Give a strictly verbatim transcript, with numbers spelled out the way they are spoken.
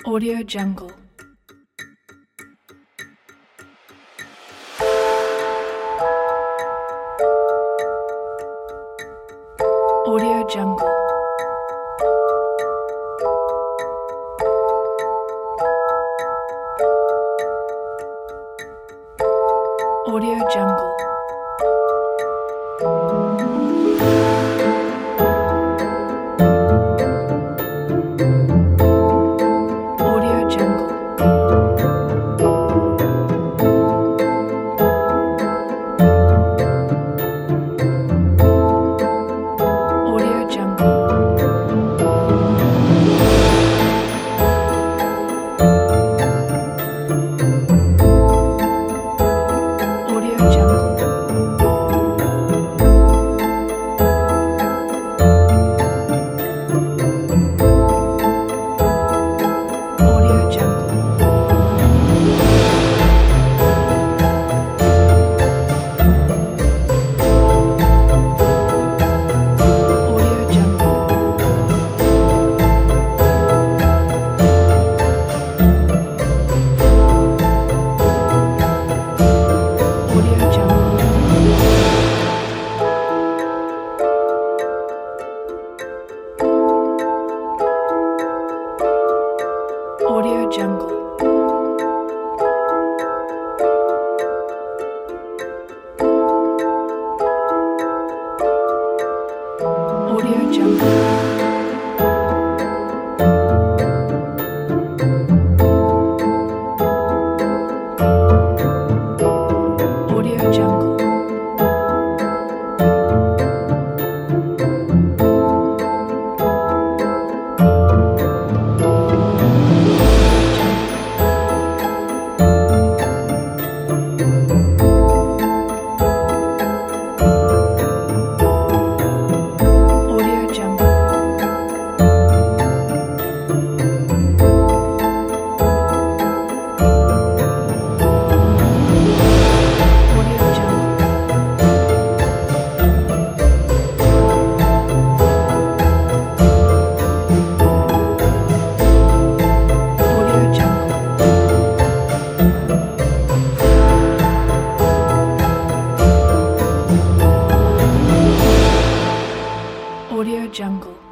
Audio Jungle. Audio Jungle. Audio Jungle. Audio Jungle. Audio Jungle. Audio Jungle. Audio Jungle. Audio Jungle. Audio Jungle. Audio Jungle. Audio Jungle. Audio Jungle. Audio Jungle. Audio Jungle. Audio Jungle. Audio Jungle.